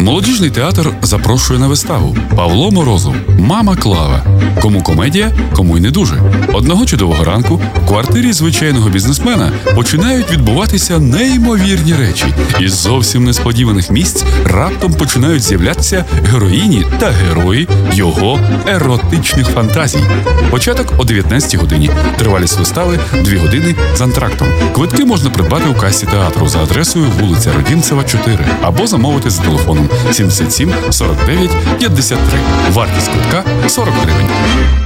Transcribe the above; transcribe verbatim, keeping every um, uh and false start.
Молодіжний театр запрошує на виставу Павло Морозов «Мама Клава». Кому комедія, кому й не дуже. Одного чудового ранку в квартирі звичайного бізнесмена починають відбуватися неймовірні речі. Із зовсім несподіваних місць раптом починають з'являтися героїні та герої його еротичних фантазій. Початок о дев'ятнадцятій годині. Тривалість вистави – дві години з антрактом. Квитки можна придбати у касі театру за адресою вулиця Родімцева, чотири або замовити за телефоном сімдесят сім сорок дев'ять п'ятдесят три. Вартість квитка – сорок гривень.